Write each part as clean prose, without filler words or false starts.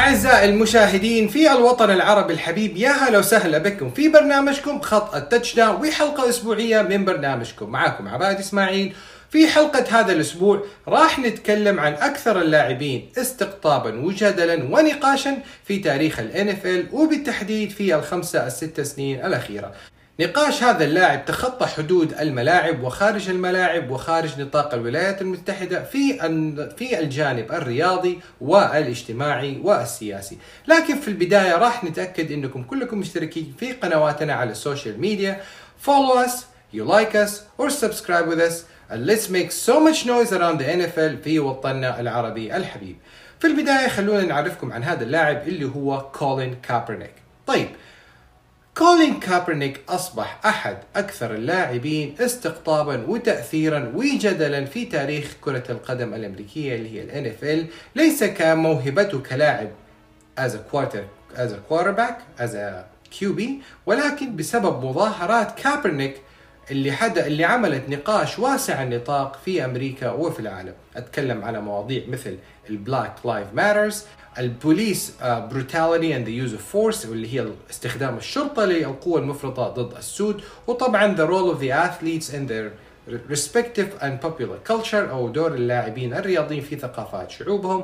أعزائي المشاهدين في الوطن العربي الحبيب، يا هلا وسهلا بكم في برنامجكم خط التاتش داون، وحلقة أسبوعية من برنامجكم. معكم عباد إسماعيل. في حلقة هذا الأسبوع راح نتكلم عن أكثر اللاعبين استقطابا وجدلا ونقاشا في تاريخ ال NFL، وبالتحديد في الخمسة الست سنين الأخيرة. نقاش هذا اللاعب تخطى حدود الملاعب وخارج الملاعب وخارج نطاق الولايات المتحدة في الجانب الرياضي والاجتماعي والسياسي. لكن في البداية راح نتأكد انكم كلكم مشتركين في قنواتنا على السوشيال ميديا. Follow us, you like us or subscribe with us and let's make so much noise around the NFL في وطننا العربي الحبيب. في البداية خلونا نعرفكم عن هذا اللاعب اللي هو كولين كابرنيك. طيب، كولين كابرنيك أصبح أحد أكثر اللاعبين استقطابا وتأثيرا وجدلا في تاريخ كرة القدم الأمريكية اللي هي ال NFL، ليس كموهبته كلاعب as a quarterback as a QB، ولكن بسبب مظاهرات كابرنيك اللي عملت نقاش واسع النطاق في أمريكا وفي العالم. أتكلم على مواضيع مثل البلاك لايف ماترز، البوليس brutality and the use of force واللي هي استخدام الشرطة للقوة المفرطة ضد السود، وطبعا the role of the athletes in their respective and popular culture أو دور اللاعبين الرياضيين في ثقافات شعوبهم،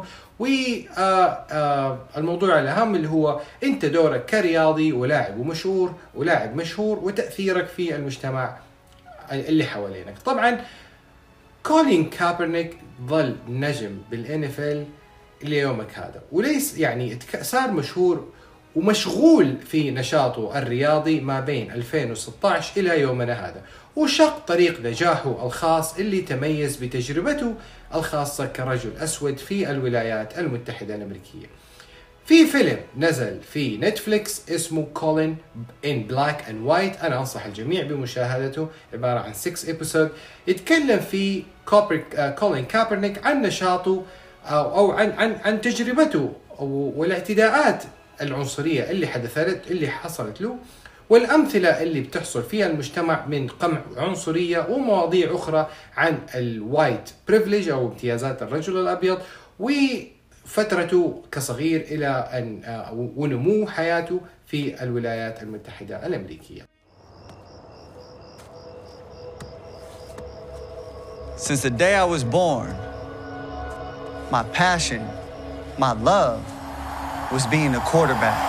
والموضوع الأهم اللي هو أنت دورك كرياضي ولاعب مشهور وتأثيرك في المجتمع اللي حوالينك. طبعا كولين كابرنيك ظل نجم بالان اف ال ليومك هذا، وليس يعني صار مشهور ومشغول في نشاطه الرياضي ما بين 2016 إلى يومنا هذا، وشق طريق نجاحه الخاص اللي تميز بتجربته الخاصة كرجل أسود في الولايات المتحدة الأمريكية. في فيلم نزل في نتفليكس اسمه كولين in Black and White، أنا أنصح الجميع بمشاهدته، عبارة عن 6 episode يتكلم في كولين كابرنيك عن نشاطه أو عن تجربته والاعتداءات العنصرية اللي حصلت له، والأمثلة اللي بتحصل فيها المجتمع من قمع عنصرية ومواضيع أخرى عن الوايت بريفليج أو امتيازات الرجل الأبيض، وفترته كصغير إلى أن ونمو حياته في الولايات المتحدة الأمريكية. Since the day I was born, my passion, my love was being a quarterback.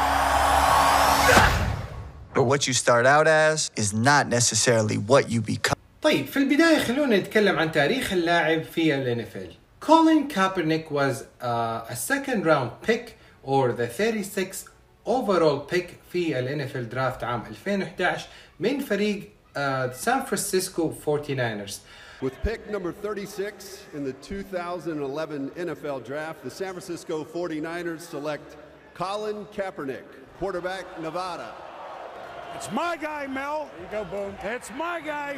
But what you start out as is not necessarily what you become. طيب، في البداية خلونا نتكلم عن تاريخ اللاعب في ال NFL. Colin Kaepernick was a second round pick or the 36th overall pick في ال NFL draft عام 2011 من فريق San Francisco 49ers. With pick number 36 in the 2011 NFL Draft, the San Francisco 49ers select Colin Kaepernick, quarterback, Nevada. It's my guy, Mel. There you go, boom. It's my guy.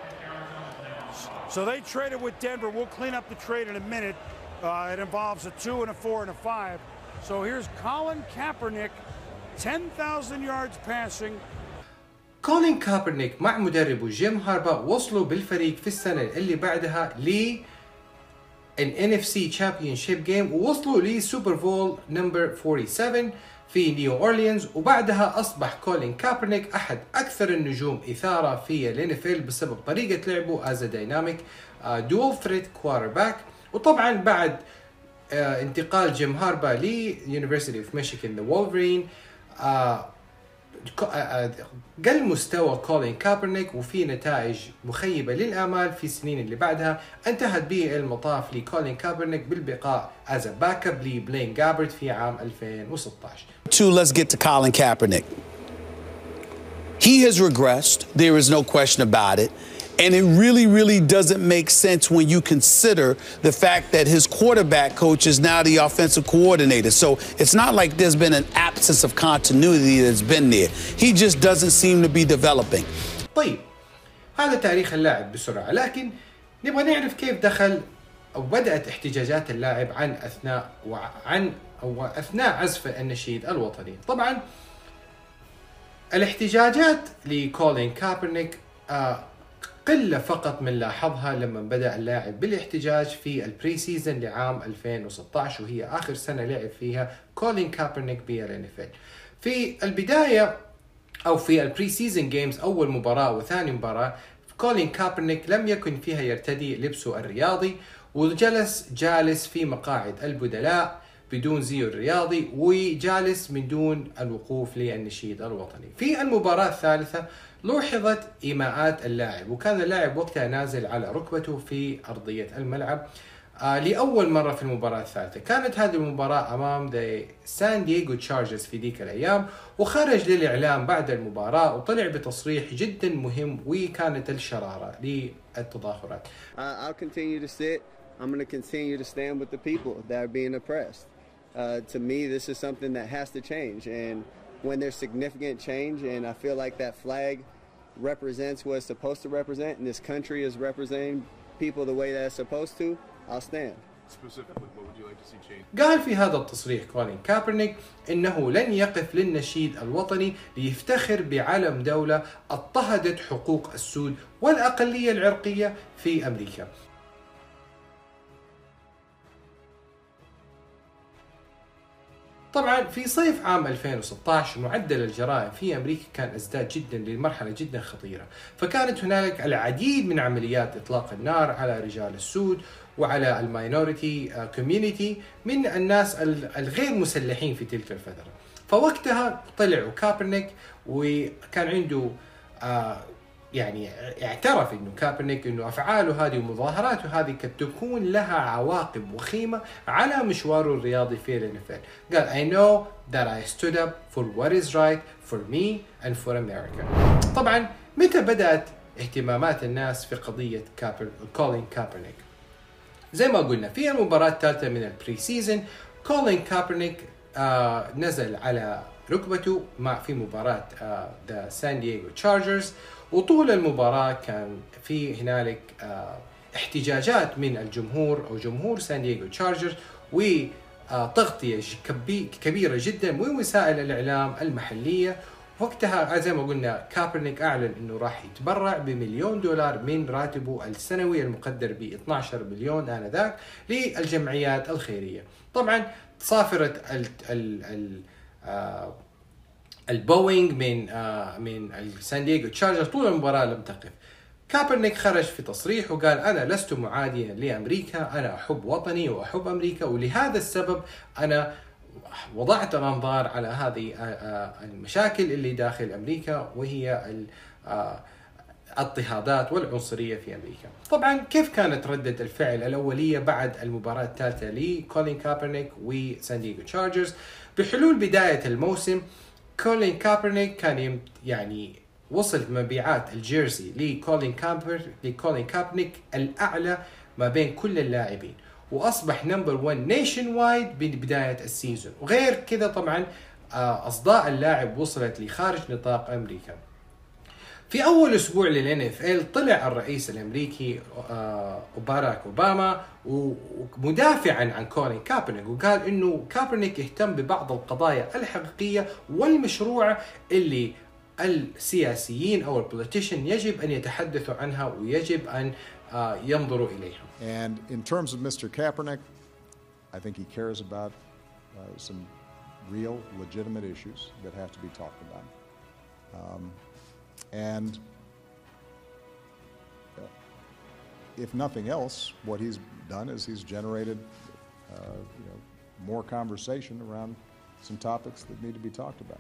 So they traded with Denver. We'll clean up the trade in a minute. It involves a 2 and a 4 and a 5. So here's Colin Kaepernick, 10,000 yards passing. كولين كابرنيك مع مدربه جيم هاربا وصلوا بالفريق في السنة اللي بعدها ل NFC Championship Game، ووصلوا لسوبر بول نمبر 47 في نيو أورليانز، وبعدها أصبح كولين كابرنيك أحد أكثر النجوم إثارة في ال NFL بسبب طريقة لعبه as a dynamic dual threat quarterback. وطبعا بعد انتقال جيم هاربا ل University of Michigan the Wolverine قل مستوى كولين كابرنيك، وفي نتائج مخيبة للآمال في السنين اللي بعدها انتهت به المطاف لكولين كابرنيك بالبقاء as a backup لبلين جابرت في عام 2016. Let's get to Colin Kaepernick. He has regressed. There is no question about it. And it really doesn't make sense when you consider the fact that his quarterback coach is now the offensive coordinator. So it's not like there's been an absence of continuity that's been there. He just doesn't seem to be developing. طيب، هذا تاريخ اللاعب بسرعة، لكن نبغى نعرف كيف دخل أو بدأت احتجاجات اللاعب أثناء عزف النشيد الوطني. طبعا الاحتجاجات لكولين كابرنيك قلة فقط من لاحظها لما بدأ اللاعب بالاحتجاج في البري سيزن لعام 2016، وهي آخر سنة لعب فيها كولين كابرنيك بالNFL. في البداية أو في البري سيزن جيمز، أول مباراة وثاني مباراة، كولين كابرنيك لم يكن فيها يرتدي لبسه الرياضي، وجلس جالس في مقاعد البدلاء بدون زيه الرياضي، وجالس من دون الوقوف للنشيد الوطني. في المباراة الثالثة لوحظت إيماءات اللاعب، وكان اللاعب وقتها نازل على ركبته في أرضية الملعب لأول مرة في المباراة الثالثة. كانت هذه المباراة أمام سان دييغو تشارجرز في ذيك الأيام، وخرج للإعلام بعد المباراة وطلع بتصريح جدا مهم، وكانت الشرارة للتظاهرات. I'll continue to sit. I'm going to continue to stand with the people that are being oppressed. To me, this is something that has to change. And when there's significant change, and I feel like that flag represents what it's supposed to represent, and this country is representing people the way that it's supposed to, I'll stand. Specifically, what would you like to see change? قال في هذا التصريح كولين كابرنيك إنه لن يقف للنشيد الوطني ليفتخر بعلم دولة اضطهدت حقوق السود والأقلية العرقية في أمريكا. طبعا في صيف عام 2016 معدل الجرائم في أمريكا كان ازداد جدا لمرحلة جدا خطيرة، فكانت هنالك العديد من عمليات إطلاق النار على رجال السود وعلى الماينورتي كوميونيتي من الناس الغير مسلحين في تلك الفترة. فوقتها طلعوا كابرنيك وكان عنده يعني اعترف انه كابرنيك انه افعاله هذه ومظاهراته هذه قد تكون لها عواقب وخيمة على مشواره الرياضي في الNFL. قال I know that I stood up for what is right for me and for America. طبعا متى بدأت اهتمامات الناس في قضية كولين كابرنيك؟ زي ما قلنا في المباراة الثالثة من البري سيزن، كولين كابرنيك نزل على ركبته في مباراة ذا سان دييغو تشارجرز، وطول المباراة كان في هنالك احتجاجات من الجمهور أو جمهور سان دييغو تشارجرز، وتغطية كبيرة جدا من وسائل الإعلام المحلية. وقتها زي ما قلنا كابرنيك أعلن أنه راح يتبرع ب$1 مليون من راتبه السنوي المقدر ب 12 مليون آنذاك للجمعيات الخيرية. طبعا صافرت البوينغ من السان دييغو تشارجرز طول المباراة لم تقف. كابرنيك خرج في تصريح وقال أنا لست معاديا لأمريكا، أنا أحب وطني وأحب أمريكا، ولهذا السبب أنا وضعت الأنظار على هذه المشاكل اللي داخل أمريكا، وهي الاضطهادات والعنصرية في أمريكا. طبعا كيف كانت ردة الفعل الأولية بعد المباراة الثالثة لكولين كابرنيك وسان دييغو تشارجرز؟ بحلول بداية الموسم كولين كابرنيك كان يعني وصلت مبيعات الجيرسي لكولين كابرنيك الأعلى ما بين كل اللاعبين، وأصبح نمبر 1 نيشن وايد ببداية السيزون. وغير كذا طبعا أصداء اللاعب وصلت لخارج نطاق أمريكا. في أول أسبوع للNFL طلع الرئيس الأمريكي باراك أوباما ومدافعا عن كولين كابرنيك، وقال إنه كابرنيك يهتم ببعض القضايا الحقيقية والمشروعة اللي السياسيين أو البوليتيشن يجب أن يتحدثوا عنها ويجب أن ينظروا إليها. And in terms of Mr. Kaepernick, I think he cares about some real, legitimate issues that have to be talked about. And if nothing else, what he's done is he's generated more conversation around some topics that need to be talked about.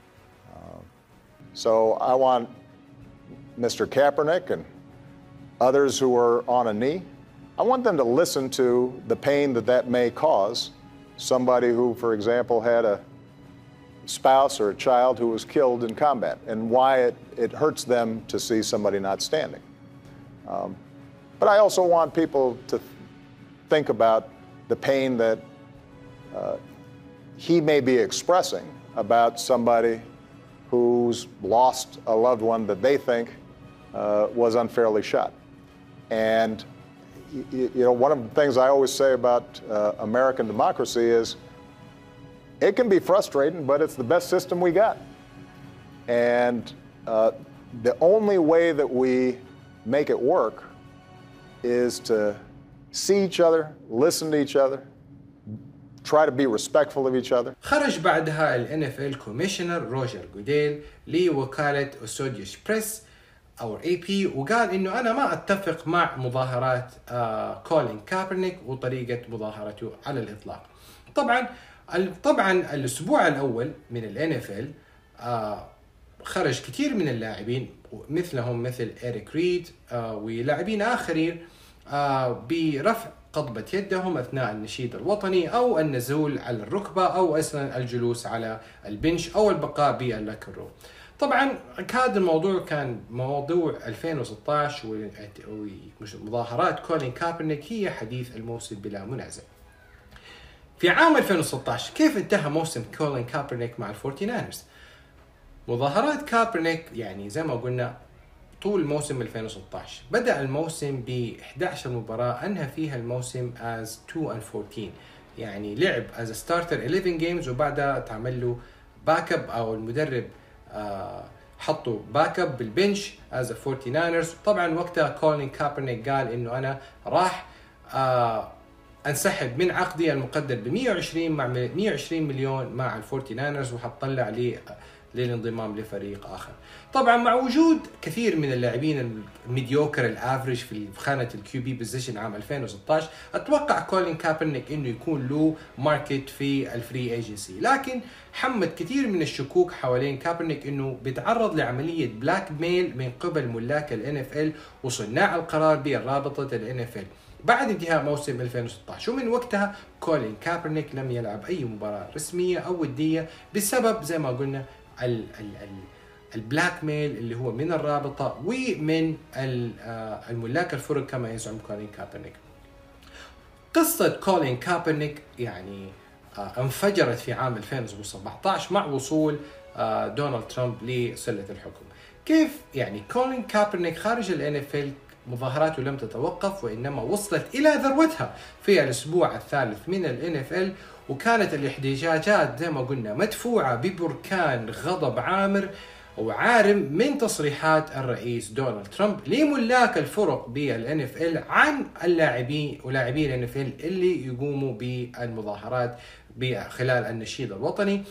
So I want Mr. Kaepernick and others who are on a knee, I want them to listen to the pain that may cause somebody who, for example, had a spouse or a child who was killed in combat, and why it hurts them to see somebody not standing. But I also want people to think about the pain that he may be expressing about somebody who's lost a loved one that they think was unfairly shot. And one of the things I always say about American democracy is it can be frustrating, but it's the best system we got. And the only way that we make it work is to see each other, listen to each other, try to be respectful of each other. خرج بعدها ال NFL كوميشنر روجر جوديل لوكالة أسوديوس بريس أو AP وقال إنه أنا ما أتفق مع مظاهرات كولين كابرنيك وطريقة مظاهرته على الإطلاق. طبعا الأسبوع الأول من ال NFL خرج كثير من اللاعبين مثل إيريك ريد ولاعبين آخرين برفع قضبة يدهم أثناء النشيد الوطني أو النزول على الركبة أو أصلا الجلوس على البنش أو البقاء باللوكر روم. طبعا هذا الموضوع كان موضوع 2016 ومظاهرات كولين كابرنيك هي حديث الموسم بلا منازع. في عام 2016 كيف انتهى موسم كولين كابرنيك مع الفورتي ناينرز؟ مظاهرات كابرنيك يعني زي ما قلنا طول موسم 2016 بدأ الموسم ب 11 مباراة أنهى فيها الموسم as 2-14 يعني لعب as a starter 11 games وبعدها تعمل له باك اب أو المدرب حطوا باك اب بالبنش as a 49ers. طبعا وقتها كولين كابرنيك قال إنه أنا راح انسحب من عقدي المقدر ب 120 مليون مع الفورتي ناينرز وحطلع للانضمام لفريق آخر. طبعا مع وجود كثير من اللاعبين الميديوكر الافريج في خانة الكيو بي بوزيشن عام 2016 اتوقع كولين كابرنيك انه يكون له ماركت في الفري ايجنسي، لكن حمد كثير من الشكوك حوالين كابرنيك انه بيتعرض لعملية بلاك ميل من قبل ملاك ال NFL وصناع القرار بالرابطة ال NFL بعد انتهاء موسم 2016. ومن وقتها كولين كابرنيك لم يلعب اي مباراة رسمية او ودية بسبب زي ما قلنا البلاك ميل اللي هو من الرابطة ومن الملاك الفرق كما يزعم كولين كابرنيك. قصة كولين كابرنيك يعني انفجرت في عام 2017 مع وصول دونالد ترامب لسلة الحكم. كيف يعني كولين كابرنيك خارج ال NFL مظاهراته لم تتوقف وإنما وصلت إلى ذروتها في الأسبوع الثالث من ال NFL وكانت الاحتجاجات زي ما قلنا مدفوعة ببركان غضب عامر وعارم من تصريحات الرئيس دونالد ترامب لملاك الفرق بال NFL عن اللاعبين ولاعبي ال NFL اللي يقوموا بالمظاهرات خلال النشيد الوطني.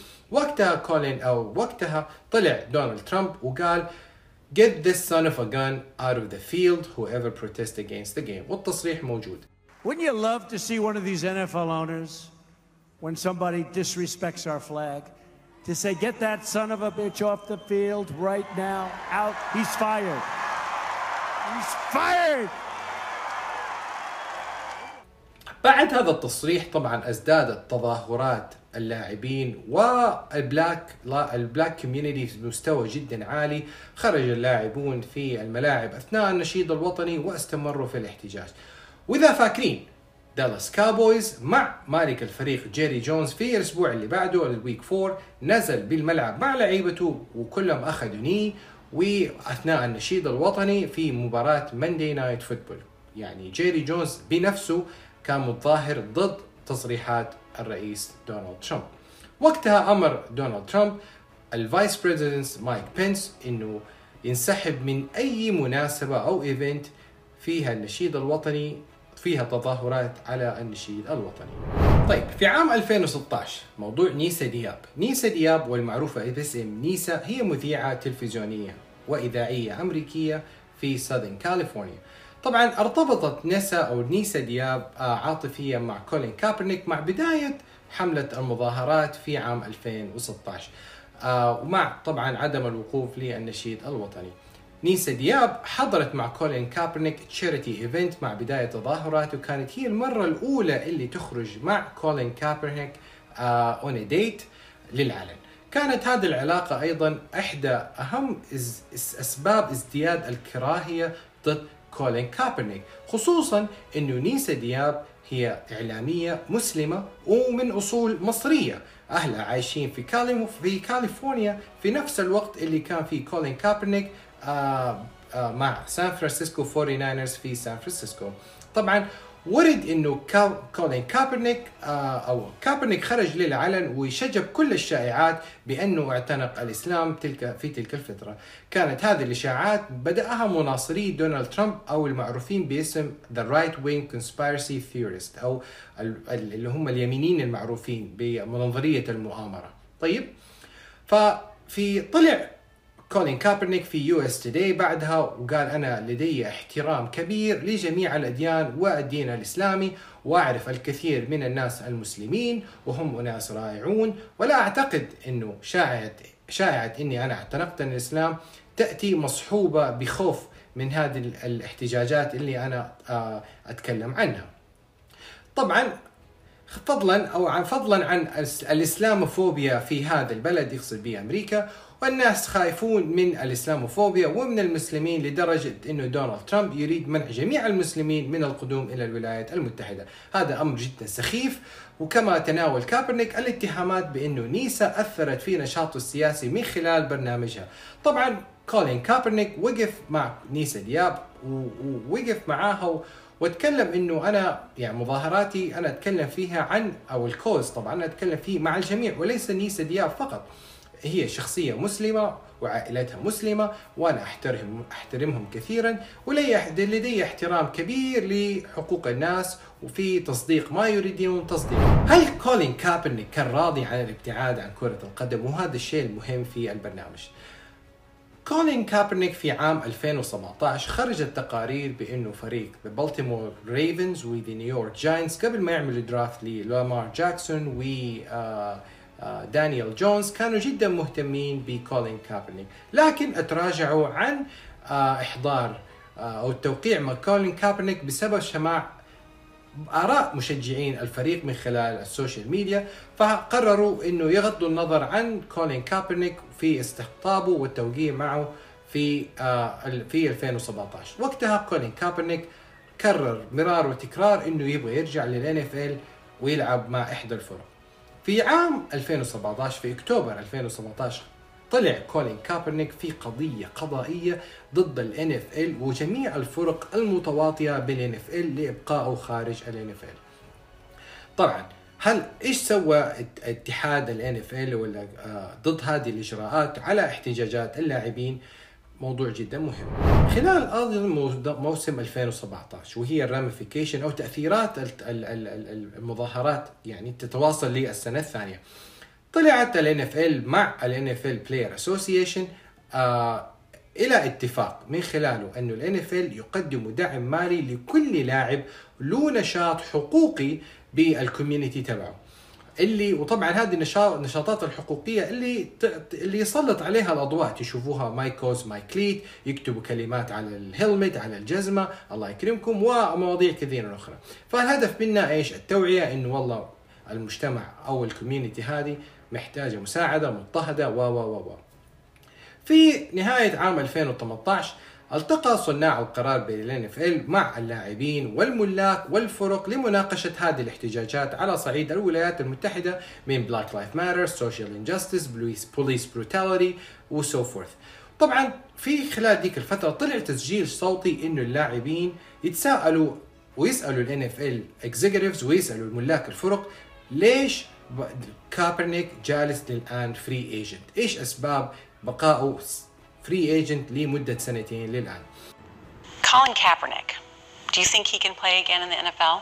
وقتها طلع دونالد ترامب وقال Get this son of a gun out of the field, whoever protests against the game. والتصريح موجود. Wouldn't you love to see one of these NFL owners, when somebody disrespects our flag, to say, get that son of a bitch off the field right now, out, he's fired. He's fired! بعد هذا التصريح طبعا ازدادت تظاهرات اللاعبين والبلاك كوميونيتي بمستوى جدا عالي. خرج اللاعبون في الملاعب اثناء النشيد الوطني واستمروا في الاحتجاج. واذا فاكرين دالاس كاوبويز مع مالك الفريق جيري جونز في الاسبوع اللي بعده الويك 4 نزل بالملعب مع لعيبته وكلهم اخذوا ني واثناء النشيد الوطني في مباراة ماندي نايت فوتبول. يعني جيري جونز بنفسه كان متظاهر ضد تصريحات الرئيس دونالد ترامب. وقتها أمر دونالد ترامب الفايس بريزيدنت مايك بينس إنه ينسحب من أي مناسبة أو إيفنت فيها النشيد الوطني فيها تظاهرات على النشيد الوطني. طيب في عام 2016 موضوع نيسا دياب والمعروفة باسم نيسا هي مذيعة تلفزيونية وإذاعية أمريكية في ساذرن كاليفورنيا. طبعا ارتبطت نيسا دياب عاطفيا مع كولين كابرنيك مع بداية حملة المظاهرات في عام 2016 ومع طبعا عدم الوقوف للنشيد الوطني. نيسا دياب حضرت مع كولين كابرنيك تشاريتي ايفنت مع بداية تظاهرات وكانت هي المرة الأولى اللي تخرج مع كولين كابرنيك اون ديت للعلن. كانت هذه العلاقة أيضا إحدى أهم أسباب ازدياد الكراهية ضد كولين كابرنيك، خصوصا انه نيسا دياب هي اعلامية مسلمة ومن اصول مصرية، اهلها عايشين في كاليفورنيا في نفس الوقت اللي كان فيه كولين كابرنيك مع سان فرانسيسكو 49ers في سان فرانسيسكو. طبعا ورد انه كولين كابرنيك او كابرنيك خرج للعلن وشجب كل الشائعات بانه اعتنق الاسلام في تلك الفتره. كانت هذه الاشاعات بداها مناصري دونالد ترامب او المعروفين باسم The Right Wing Conspiracy Theorist او اللي هم اليمينيين المعروفين بمنظريه المؤامره. طيب، ففي طلع كولين كابرنيك في US Today بعدها وقال أنا لدي احترام كبير لجميع الأديان والدين الإسلامي، وأعرف الكثير من الناس المسلمين وهم أناس رائعون، ولا أعتقد أنه شائعة أني أنا اعتنقت الإسلام تأتي مصحوبة بخوف من هذه الاحتجاجات اللي أنا أتكلم عنها. طبعا فضلا عن الإسلاموفوبيا في هذا البلد، يقصد به أمريكا، والناس خايفون من الإسلاموفوبيا ومن المسلمين لدرجة أنه دونالد ترامب يريد منع جميع المسلمين من القدوم إلى الولايات المتحدة. هذا أمر جدا سخيف. وكما تناول كابرنيك الاتهامات بأنه نيسا أثرت في نشاطه السياسي من خلال برنامجها. طبعا كولين كابرنيك وقف مع نيسا دياب ووقف معاها واتكلم انه انا يعني مظاهراتي انا اتكلم فيها عن او الكوز طبعا انا اتكلم فيه مع الجميع وليس نيسا دياب فقط. هي شخصية مسلمة وعائلتها مسلمة وأنا أحترمهم كثيرا، ولدي احترام كبير لحقوق الناس وفي تصديق ما يريدون تصديقه. هل كولين كابرنيك كان راضي عن الابتعاد عن كرة القدم؟ وهذا الشيء المهم في البرنامج. كولين كابرنيك في عام 2017 خرجت تقارير بأنه فريق بالتيمور ريفنز وذي نيويورك جاينتس قبل ما يعملوا درافت للامار جاكسون و دانيال جونز كانوا جدا مهتمين بكولين كابرنيك، لكن تراجعوا عن إحضار أو التوقيع مع كولين كابرنيك بسبب سماع آراء مشجعين الفريق من خلال السوشيال ميديا، فقرروا إنه يغضوا النظر عن كولين كابرنيك في استقطابه والتوقيع معه في 2017. وقتها كولين كابرنيك كرر مرار وتكرار إنه يبغى يرجع للNFL ويلعب مع إحدى الفرق. في عام 2017 في أكتوبر 2017 طلع كولين كابرنيك في قضية قضائية ضد الNFL وجميع الفرق المتواطئة بالNFL لإبقائه خارج الNFL. طبعا إيش سوى اتحاد الNFL ولا ضد هذه الإجراءات على احتجاجات اللاعبين؟ موضوع جدا مهم. خلال موسم 2017 وهي الراميفيكيشن أو تأثيرات المظاهرات يعني تتواصل للسنة الثانية، طلعت الNFL مع الNFL Player Association إلى اتفاق من خلاله أنه الNFL يقدم دعم مالي لكل لاعب له نشاط حقوقي بالكوميونيتي تبعه، وطبعا هذه النشاطات الحقوقية اللي يسلط عليها الأضواء تشوفوها ماي كوز ماي كليت، يكتبوا كلمات على الهلمت على الجزمة الله يكرمكم ومواضيع كثيرة أخرى. فالهدف منا إيش؟ التوعية إنه والله المجتمع أو الكوميونيتي هذه محتاجة مساعدة مضطهدة و في نهاية عام 2018 التقى صناع القرار بالNFL مع اللاعبين والملاك والفرق لمناقشة هذه الاحتجاجات على صعيد الولايات المتحدة من Black Lives Matter, Social Injustice, Police Brutality وسو فورث. طبعا في خلال ديك الفترة طلع تسجيل صوتي إنه اللاعبين يتساءلوا ويسألوا الNFL Executives ويسألوا الملاك الفرق ليش كابرنيك جالس للآن فري ايجنت؟ ايش أسباب بقائه فري ايجنت لمدة سنتين للآن؟ Colin Kaepernick, do you think he can play again in the NFL?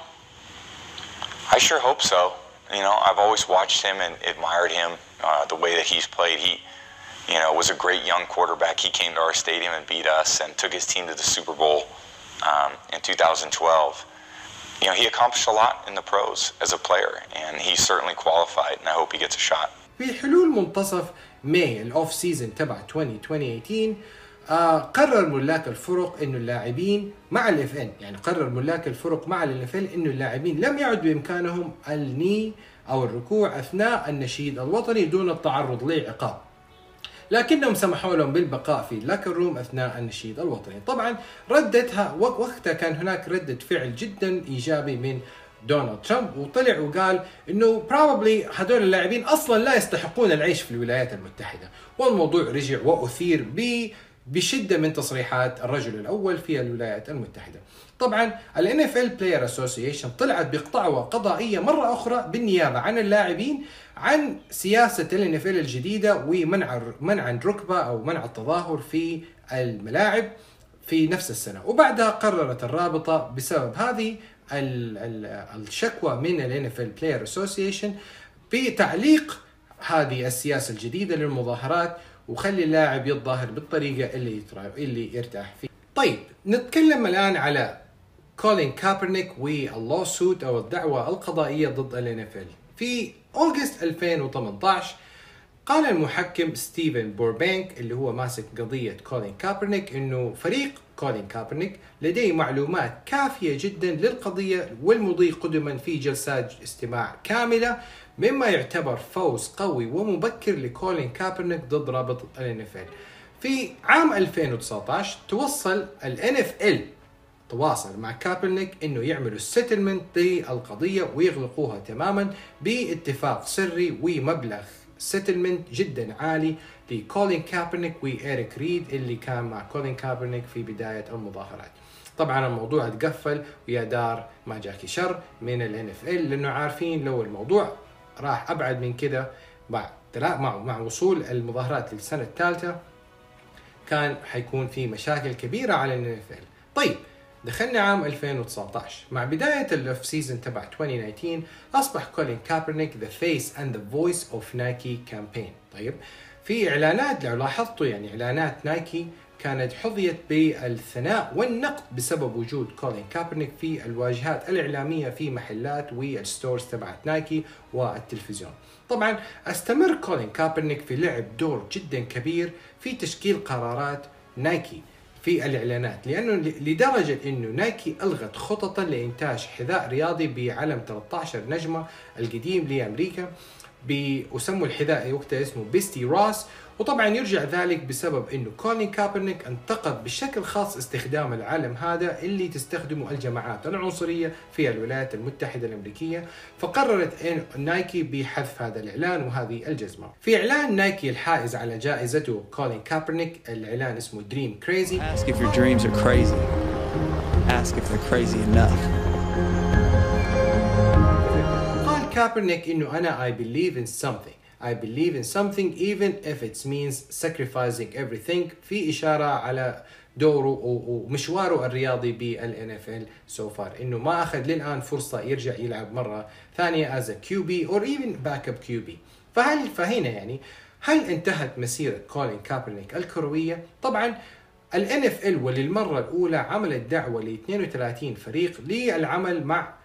I sure hope so. You know, I've always watched him and admired him, the way that he's played. He, was a great young quarterback. He came to our stadium and beat us and took his team to the Super Bowl in 2012. He accomplished a lot in the pros as a player, and he's certainly qualified, and I hope he gets a shot. في حلول منتصف ماي الأوف سيزن تبع 2018 قرر ملاك الفرق إنه اللاعبين مع الFN، يعني قرر ملاك الفرق مع الNFL إنه اللاعبين لم يعد بإمكانهم الني أو الركوع أثناء النشيد الوطني دون التعرض لعقاب، لكنهم سمحوا لهم بالبقاء في اللاكر روم أثناء النشيد الوطني. طبعا ردتها وقتها كان هناك ردة فعل جدا إيجابي من دونالد ترامب، وطلع وقال إنه probably هدول اللاعبين أصلا لا يستحقون العيش في الولايات المتحدة، والموضوع رجع وأثير بشدة من تصريحات الرجل الأول في الولايات المتحدة. طبعا ال NFL Player Association طلعت بقطعوة قضائية مرة أخرى بالنيابة عن اللاعبين عن سياسة ال NFL الجديدة ومنع الركبة أو منع التظاهر في الملاعب في نفس السنة. وبعدها قررت الرابطة بسبب هذه الشكوى من ال NFL Player Association بتعليق هذه السياسة الجديدة للمظاهرات وخلي اللاعب يتظاهر بالطريقة اللي يرتاح فيها. طيب نتكلم الآن على كولين كابرنيك واللوسوت أو الدعوة القضائية ضد ال NFL. في أغسطس 2018 قال المحكم ستيفن بوربانك اللي هو ماسك قضية كولين كابرنيك إنه فريق كولين كابرنيك لديه معلومات كافية جدا للقضية والمضي قدما في جلسات استماع كاملة، مما يعتبر فوز قوي ومبكر لكولين كابرنيك ضد رابطة ال NFL. في عام 2019 تواصل مع كابرنيك انه يعملوا سيتلمنت للقضية ويغلقوها تماما باتفاق سري ومبلغ سيتلمنت جدا عالي لكولين كابرنيك وإيريك ريد اللي كان مع كولين كابرنيك في بداية المظاهرات. طبعا الموضوع اتقفل ويا دار ما جاكي شر من ال NFL لانه عارفين لو الموضوع راح ابعد من كده مع وصول المظاهرات للسنة الثالثة كان حيكون في مشاكل كبيرة على ال NFL. طيب دخلنا عام 2019 مع بداية الأوف سيزن تبع 2019 أصبح كولين كابرنيك the face and the voice of Nike campaign. طيب في إعلانات لو لاحظتوا يعني إعلانات نايكي كانت حظيت بالثناء والنقد بسبب وجود كولين كابرنيك في الواجهات الإعلامية في محلات والستورز تبعت نايكي والتلفزيون. طبعا استمر كولين كابرنيك في لعب دور جدا كبير في تشكيل قرارات نايكي في الإعلانات، لأنه لدرجة أنه نايكي ألغت خططا لإنتاج حذاء رياضي بعلم 13 نجمة القديم لأمريكا وسموا الحذاء وقتها اسمه بيستي روس. وطبعا يرجع ذلك بسبب انه كولين كابرنيك انتقد بشكل خاص استخدام العلم هذا اللي تستخدمه الجماعات العنصرية في الولايات المتحدة الأمريكية، فقررت إن نايكي بحذف هذا الإعلان وهذه الجزمة. في إعلان نايكي الحائز على جائزته كولين كابرنيك، الإعلان اسمه Dream Crazy. Ask if your dreams are crazy. Ask if they're crazy enough. قال كابرنيك إنه أنا I believe in something. I believe in something even if it means sacrificing everything، في إشارة على دوره ومشواره الرياضي بال NFL so far، إنه ما أخذ للآن فرصة يرجع يلعب مرة ثانية as a QB or even backup QB. فهنا يعني هل انتهت مسيرة كولين كابرنيك الكروية؟ طبعا ال NFL وللمرة الأولى عملت دعوة ل 32 فريق للعمل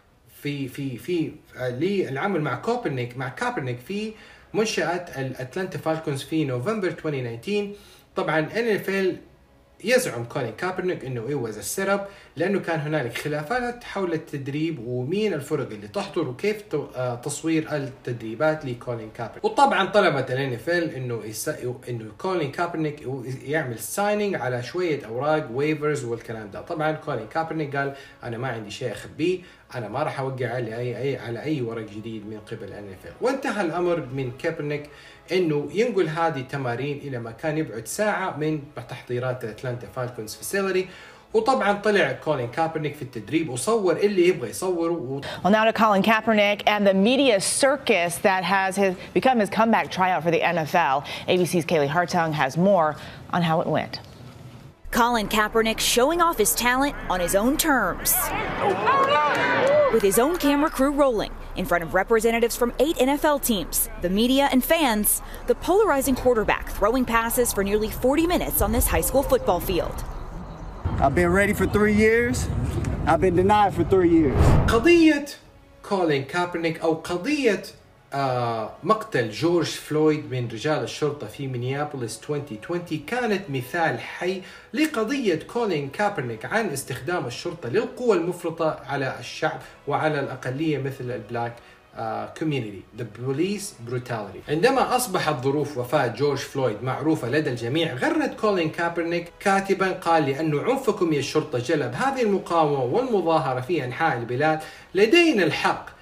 مع كابرنيك في منشأة الأتلانتا فالكونز في نوفمبر 2019. طبعا NFL يزعم كولين كابرنيك انه it was a setup لانه كان هنالك خلافات حول التدريب ومين الفرق اللي تحضر وكيف تصوير التدريبات لكولين كابرنيك. وطبعا طلبت ال NFL انه كولين كابرنيك يعمل سايننج على شويه اوراق ويفرز والكلام ده. طبعا كولين كابرنيك قال انا ما عندي شيء اخبيه، انا ما راح اوقع على اي ورق جديد من قبل NFL. وانتهى الامر من كابرنيك انه ينقل هذه التمارين الى مكان يبعد ساعه من تحضيرات الاتلانتا فالكونز فاسيلتي. وطبعا طلع كولين كابرنيك في التدريب وصور اللي يبغى يصوره. Well, now to Colin Kaepernick and the media circus that has become his comeback tryout for the NFL. ABC's Kaylee Hartung has more on how it went. Colin Kaepernick showing off his talent on his own terms. With his own camera crew rolling in front of representatives from 8 NFL teams, the media and fans, the polarizing quarterback throwing passes for nearly 40 minutes on this high school football field. I've been ready for 3 years. I've been denied for 3 years. قضية كولين كابرنيك أو قضية مقتل جورج فلويد من رجال الشرطة في مينيابوليس 2020 كانت مثال حي لقضية كولين كابرنيك عن استخدام الشرطة للقوة المفرطة على الشعب وعلى الأقلية مثل البلاك community, the police brutality. عندما أصبحت ظروف وفاة جورج فلويد معروفة لدى الجميع، غرد كولين كابرنيك كاتبا قال لأنه عنفكم يا الشرطة جلب هذه المقاومة والمظاهرة في أنحاء البلاد، لدينا الحق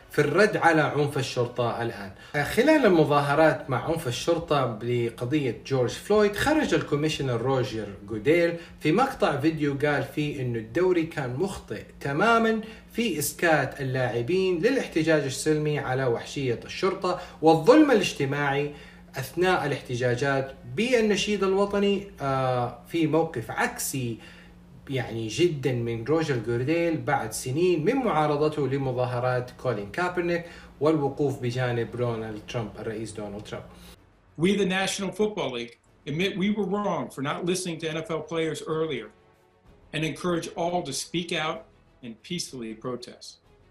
في الرد على عنف الشرطة الآن. خلال المظاهرات مع عنف الشرطة لقضية جورج فلويد، خرج الكوميشنر روجر جوديل في مقطع فيديو قال فيه إنه الدوري كان مخطئ تماما في إسكات اللاعبين للاحتجاج السلمي على وحشية الشرطة والظلم الاجتماعي أثناء الاحتجاجات بالنشيد الوطني، في موقف عكسي يعني جدا من روجر جوديل بعد سنين من معارضته لمظاهرات كولين كابرنيك والوقوف بجانب دونالد ترامب الرئيس دونالد ترامب. We, the National Football League, admit we were wrong for not listening to NFL players earlier and encourage all to speak out and peacefully protest.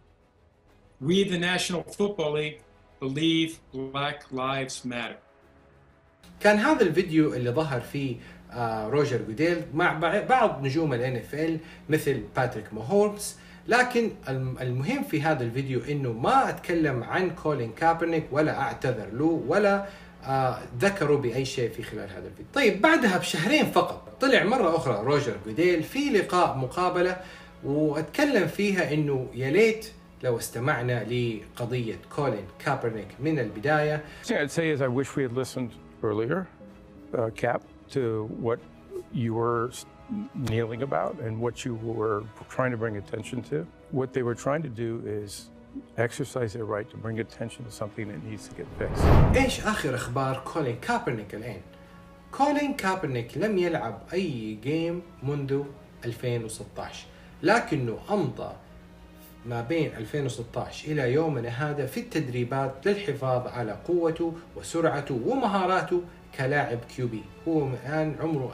We, the National Football League, believe Black Lives Matter. كان هذا الفيديو اللي ظهر فيه روجر جوديل مع بعض نجوم NFL مثل باتريك ماهومز، لكن المهم في هذا الفيديو انه ما اتكلم عن كولين كابرنيك ولا اعتذر له ولا ذكروا بأي شيء في خلال هذا الفيديو. طيب بعدها بشهرين فقط طلع مرة أخرى روجر جوديل في لقاء مقابلة واتكلم فيها إنه يا ليت لو استمعنا لقضية كولين كابرنيك من البداية. I'd say is I wish we had listened earlier, Cap, to what you were kneeling about and what you were trying to bring attention to. What they were trying to do is exercise their right to bring attention to something that needs to get fixed. إيش آخر أخبار كولين كابرنيك الآن؟ كولين كابرنيك لم يلعب أي جيم منذ 2016، لكنه أمضى ما بين 2016 إلى يومنا هذا في التدريبات للحفاظ على قوته وسرعته ومهاراته كلاعب كيوبي. هو الآن عمره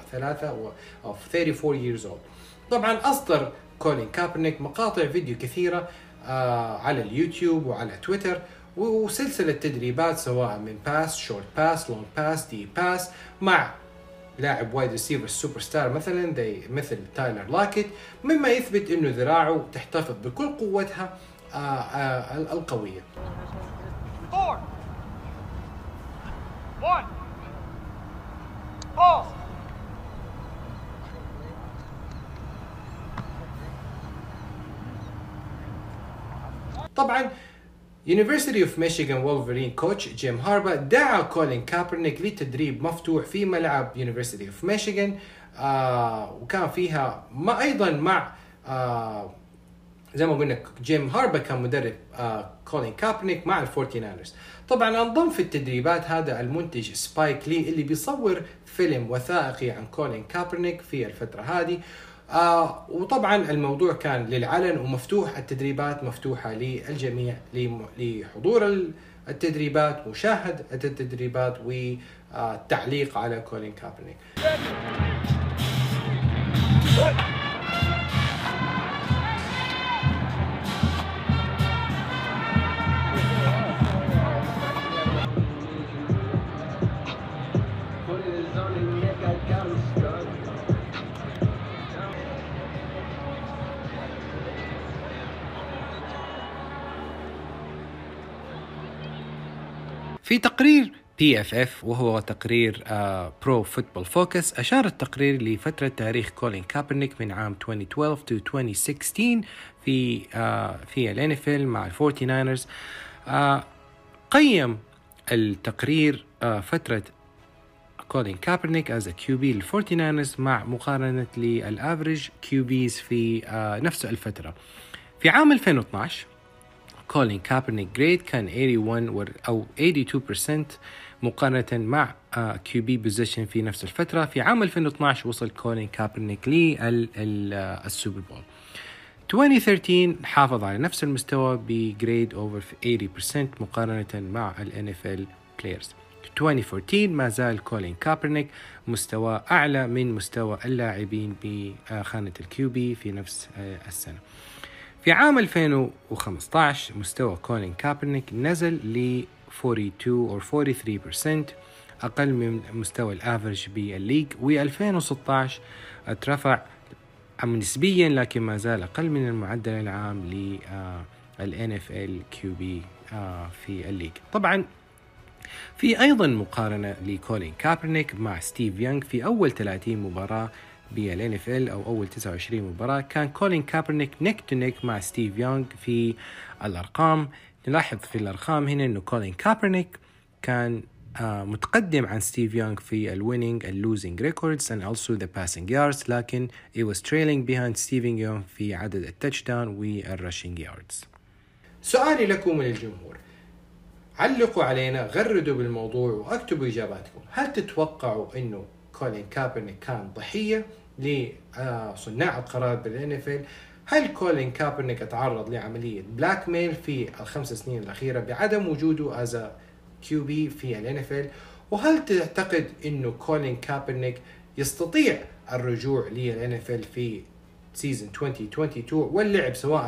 34 years old. طبعا أصدر كولين كابرنيك مقاطع فيديو كثيرة على اليوتيوب وعلى تويتر وسلسلة تدريبات سواء من باس، شورت باس، لونج باس، دي باس مع لاعب وايد ريسيفر سوبر ستار مثل تايلر لاكيت، مما يثبت انه ذراعه تحتفظ بكل قوتها القوية. 4 1 pause. طبعا University of Michigan Wolverine كوتش جيم هاربا دعا كولين كابرنيك لتدريب مفتوح في ملعب University of Michigan، وكان فيها أيضا مع زي ما قلنا جيم هاربا كان مدرب كولين كابرنيك مع ال49ers. طبعا انضم في التدريبات هذا المنتج سبايك لي اللي بيصور فيلم وثائقي عن كولين كابرنيك في الفترة هذه، وطبعا الموضوع كان للعلن ومفتوح، التدريبات مفتوحة للجميع لحضور التدريبات، مشاهدة التدريبات والتعليق على كولين كابرنيك. في تقرير PFF وهو تقرير برو فوتبول فوكس، أشار التقرير لفترة تاريخ كولين كابرنيك من عام 2012 to 2016 في NFL مع ال49ers. قيم التقرير فترة كولين كابرنيك as a QB لل49ers مع مقارنة للأفريج QBs في نفس الفترة. في عام 2012 كولين كابرنيك جريد كان 81 أو 82% مقارنة مع QB بوزيشن في نفس الفترة. في عام 2012 وصل كولين كابرنيك للسوبر بول. 2013 حافظ على نفس المستوى بجريد over 80% مقارنة مع NFL players. 2014 ما زال كولين كابرنيك مستوى أعلى من مستوى اللاعبين بخانة الكيوبي في نفس السنة. في عام 2015 مستوى كولين كابرنيك نزل ل 42 أو 43%، أقل من مستوى الأفرج بالليج. و2016 اترفع نسبيا لكن ما زال أقل من المعدل العام لل NFL QB في الليج. طبعا في أيضا مقارنة لكولين كابرنيك مع ستيف يونغ في أول 30 مباراة بالان اف ال او اول 29 مباراة. كان كولين كابرنيك نيك تو نيك مع ستيف يونغ في الارقام، نلاحظ في الأرقام هنا إنه كولين كابرنيك كان متقدم عن ستيف يونغ في الويننج اللوزنج ريكوردز and also the passing yards، لكن it was trailing behind ستيفن يونغ في عدد التاتش داون والرشنج ياردز. سؤالي لكم وللجمهور، علقوا علينا، غردوا بالموضوع واكتبوا إجاباتكم. هل تتوقعوا إنه كولين كابرنيك كان ضحية لصناع القرار بالNFL؟ هل كولين كابرنيك تعرض لعملية بلاك ميل في ال5 سنين الأخيرة بعدم وجوده as a QB في الNFL؟ وهل تعتقد إنه كولين كابرنيك يستطيع الرجوع للNFL في سيزن 2022 واللعب سواء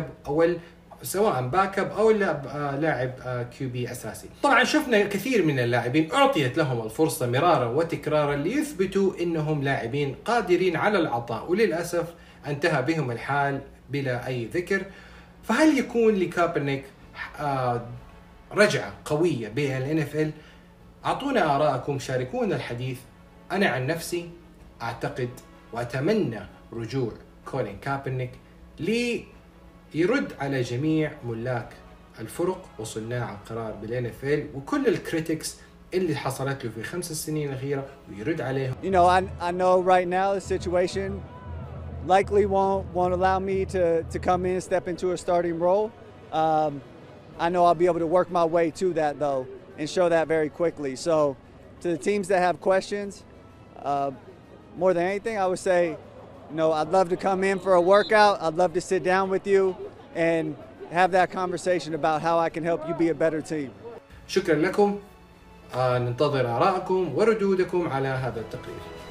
باك اب او لاعب QB اساسي؟ طبعا شفنا كثير من اللاعبين اعطيت لهم الفرصة مرارا وتكرارا ليثبتوا انهم لاعبين قادرين على العطاء، وللاسف انتهى بهم الحال بلا اي ذكر. فهل يكون لكابرنيك رجعة قوية بالNFL؟ اعطونا آراءكم، شاركونا الحديث. انا عن نفسي اعتقد واتمنى رجوع كولين كابرنيك ليرد على جميع ملاك الفرق وصناع القرار بالNFL وكل الكريتكس اللي حصلت له في 5 سنين الأخيرة ويرد عليهم. You know, I know right now the situation likely won't allow me to come in and step into a starting role. I know I'll be able to work my way to that though and show that very quickly. So to the teams that have questions, more than anything, I would say, you know, I'd love to come in for a workout. I'd love to sit down with you and have that conversation about how I can help you be a better team. شكرا لكم. ننتظر آراءكم وردودكم على هذا التقرير.